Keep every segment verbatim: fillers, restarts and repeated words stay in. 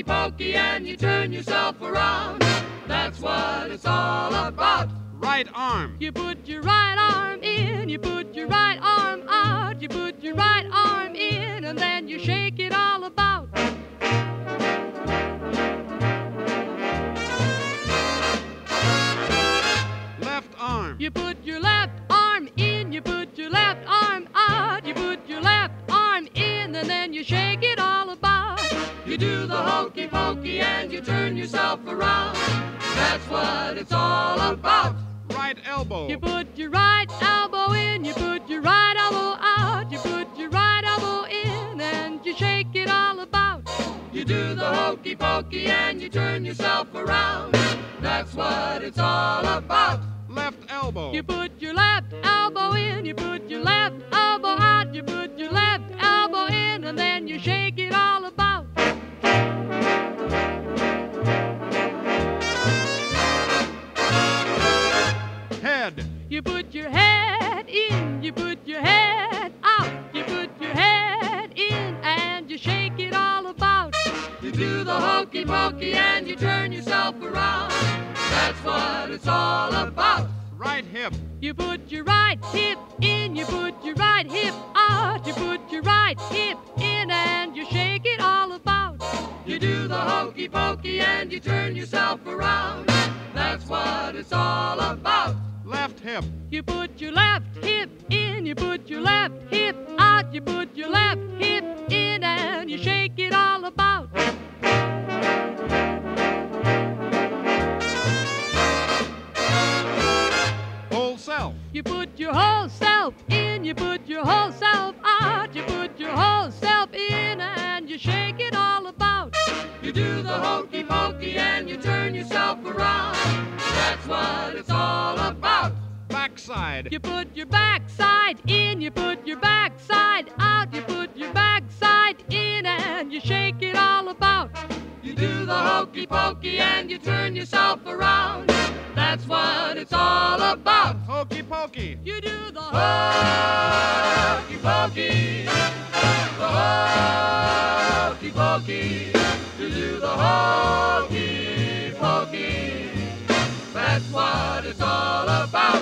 pokey and you turn yourself around. That's what it's all about. Right arm. You put your right arm in, you put your right arm out, you put your right arm in, and then you shake it all about. Left arm. You put your left arm in, you put your left arm out, you put your left arm in, and then you shake it all about. You do the hokey pokey and you turn yourself around. That's what it's all about. Right elbow. You put your right elbow in, you put your right elbow out, you put your right elbow in, and you shake it all about. You do the hokey pokey and you turn yourself around. That's what it's all about. Left elbow. You put your left elbow in, you put your left elbow out, you put your left elbow in, and then you shake it all about. Head. You put your head in, you put your head out, you put your head in, and you shake it all about. You do the hokey pokey and you turn yourself around. That's what it's all about. Right hip. You put your right hip in, you put your right hip out, you put your right hip in, and you shake it all about. You do the hokey pokey and you turn yourself around. That's what it's all about. Left hip. You put your left hip in, you put your left hip out, you put your left hip in, and you shake it all about. Whole self. You put your whole self in, you put your whole self out, you put your whole self in, and you shake it all about. You do the hokey pokey and you turn yourself around. That's what it's all about. Backside. You put your backside in, you put your backside out, you put your backside in, and you shake it all about. You do the hokey pokey and you turn yourself around. That's what it's all about. Hokey pokey. You do the Hokey pokey. The hokey pokey. You do the hokey pokey. That's what it's all about.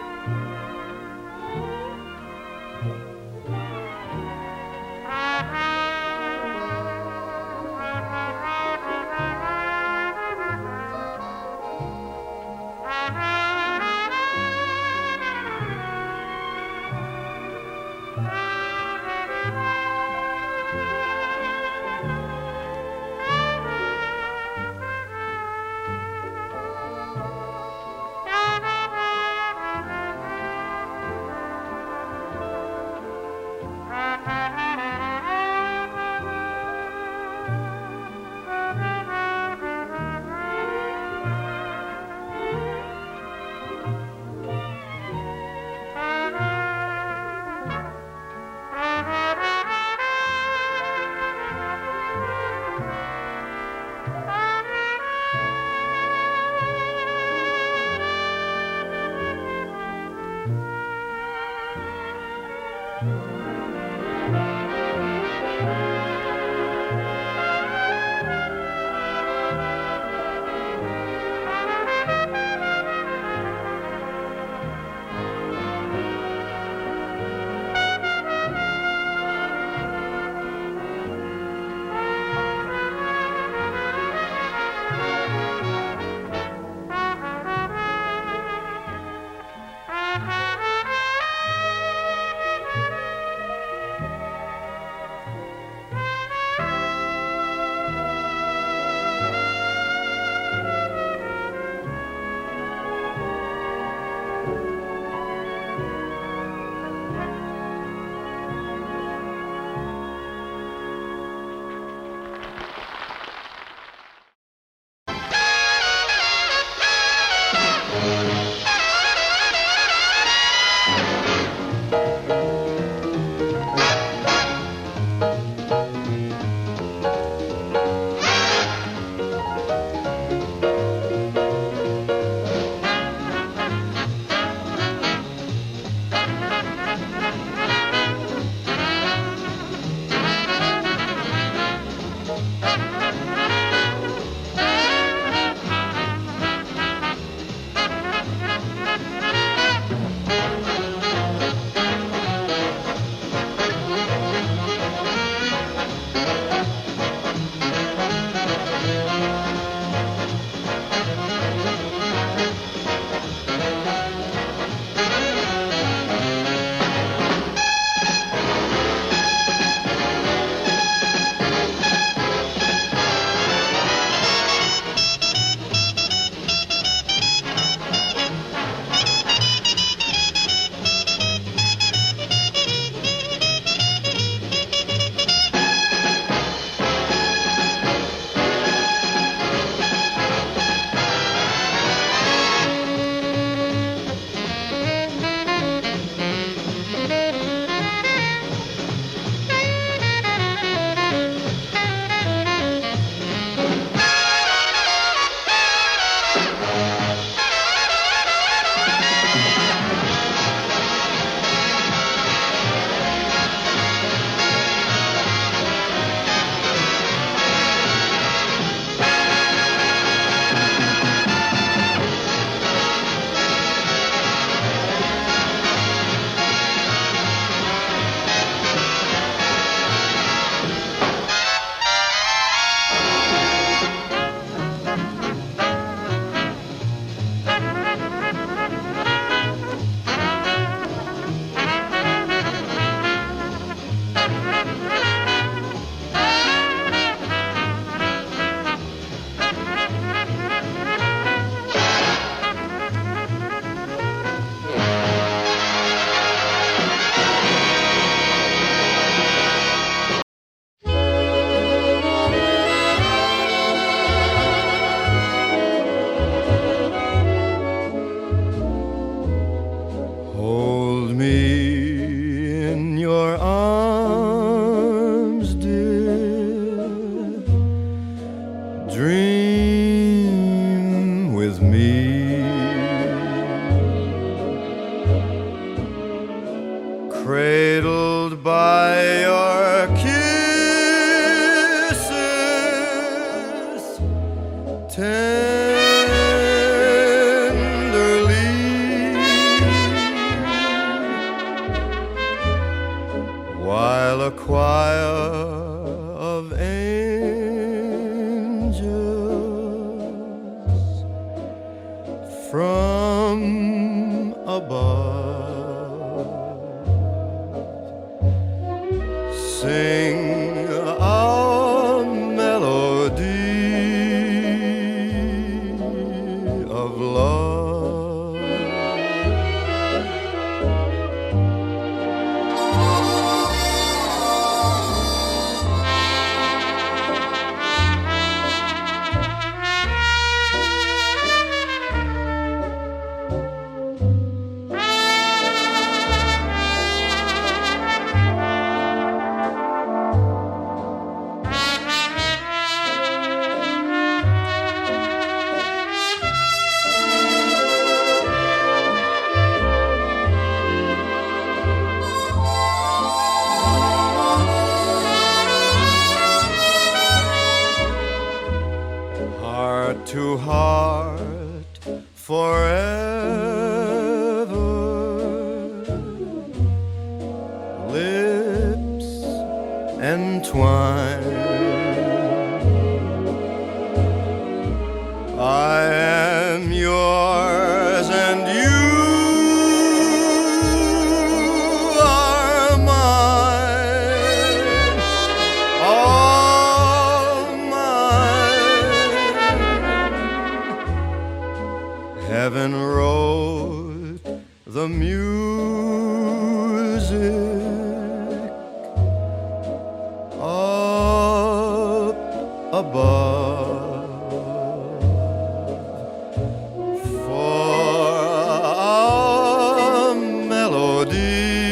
Ha ha! tenderly, while a choir of angels from above sing a melody of love. Heart to heart forever, lips entwined. I am yours and you are mine, all mine. Heaven wrote the music up above for a melody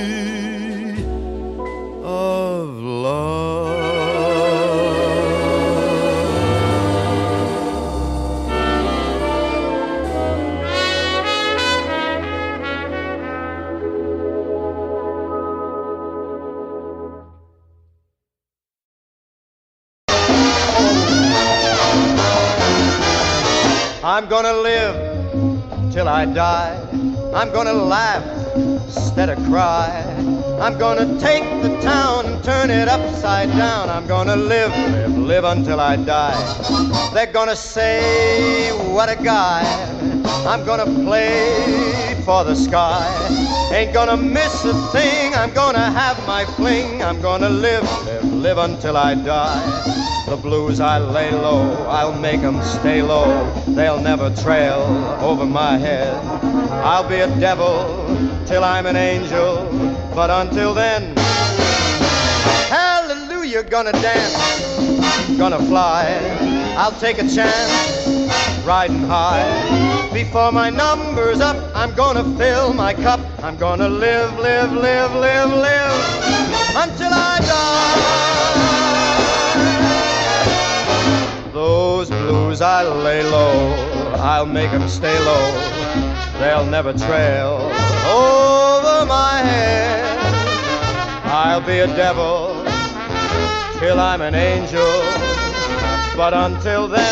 of love. I'm gonna live till I die. I'm gonna laugh instead of cry. I'm gonna take the town and turn it upside down. I'm gonna live, live, live until I die. They're gonna say, what a guy. I'm gonna play for the sky. Ain't gonna miss a thing. I'm gonna have my fling. I'm gonna live, live, live until I die. The blues I lay low, I'll make 'em stay low. They'll never trail over my head. I'll be a devil till I'm an angel, but until then, hallelujah, gonna dance, gonna fly. I'll take a chance, riding high. Before my number's up, I'm gonna fill my cup. I'm gonna live, live, live, live, live until I die. Those blues I lay low, I'll make 'em stay low. They'll never trail over my head. I'll be a devil till I'm an angel, but until then,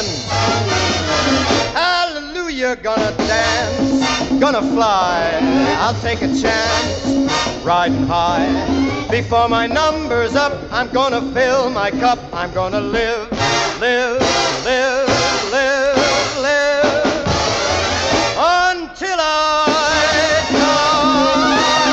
hallelujah, gonna dance, gonna fly. I'll take a chance, riding high. Before my number's up, I'm gonna fill my cup. I'm gonna live, live, live, live, live until I die.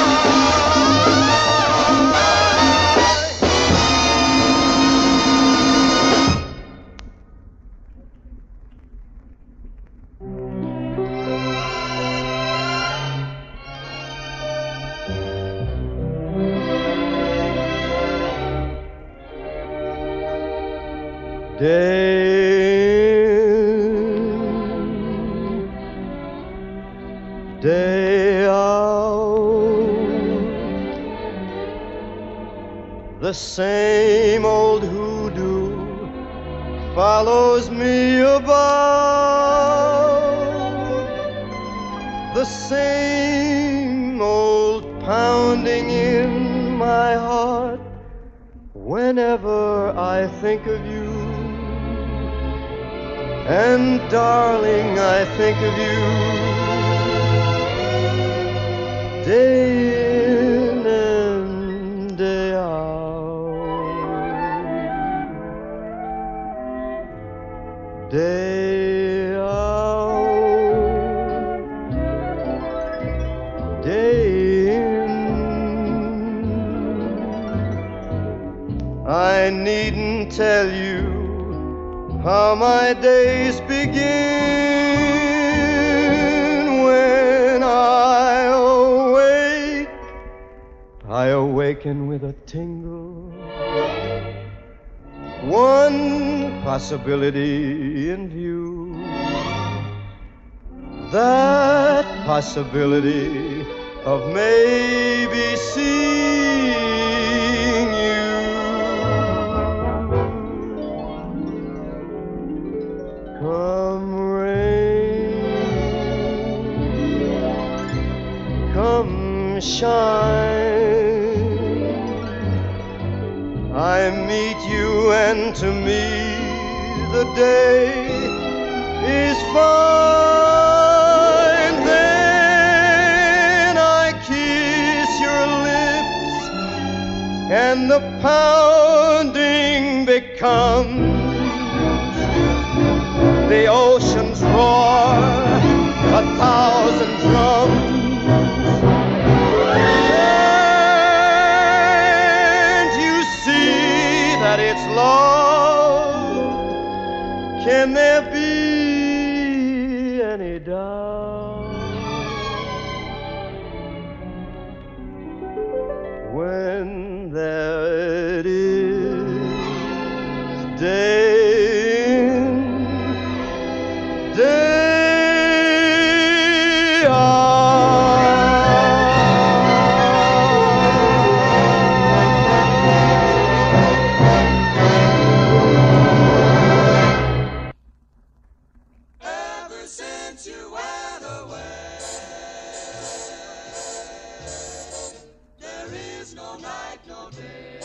Day, day out, the same old hoodoo follows me about, the same old pounding in my heart whenever I think of you. And darling, I think of you day in and day out, day out, day in. I needn't tell you how my days begin when I awake. I awaken with a tingle, one possibility in view. That possibility of maybe seeing you. Come rain, come shine, I meet you, and to me the day is fine. Then I kiss your lips, and the pounding becomes the ocean's roar, a thousand drums. And you see that it's love. Can there be any doubt? When there it is, day day Ever since you went away, there is no night, no day.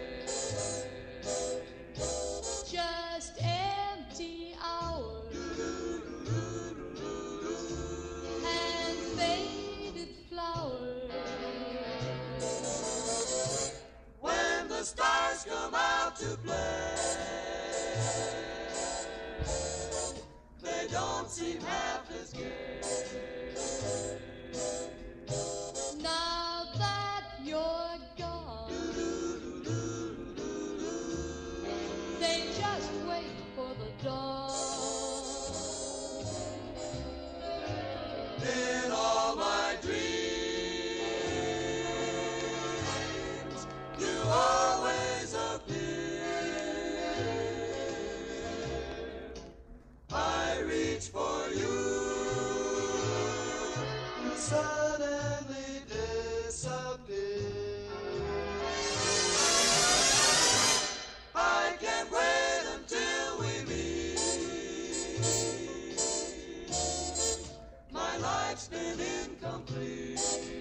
Just empty hours and faded flowers. When the stars come out to play, they don't seem half as gay. Now that you're gone, they just wait for the dawn. In all my dreams, you always appear. I reach for you, you suddenly disappear. I can't wait until we meet. My life's been incomplete.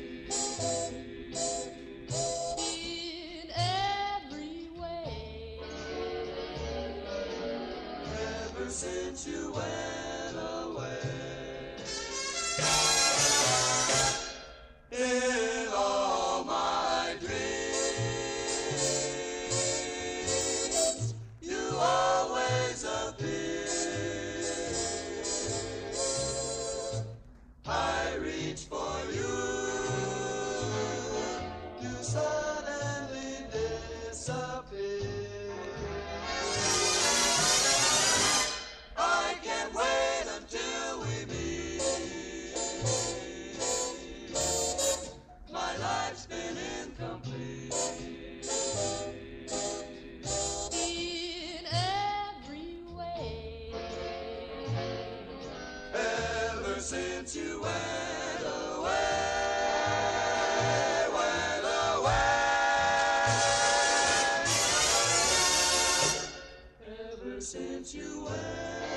In every way, Ever since you went away. In all my dreams, you always appear. I reach for you, you suddenly disappear. I can't wait until we meet. My life's been incomplete. in every way. Ever since you went away, went away. Ever since you went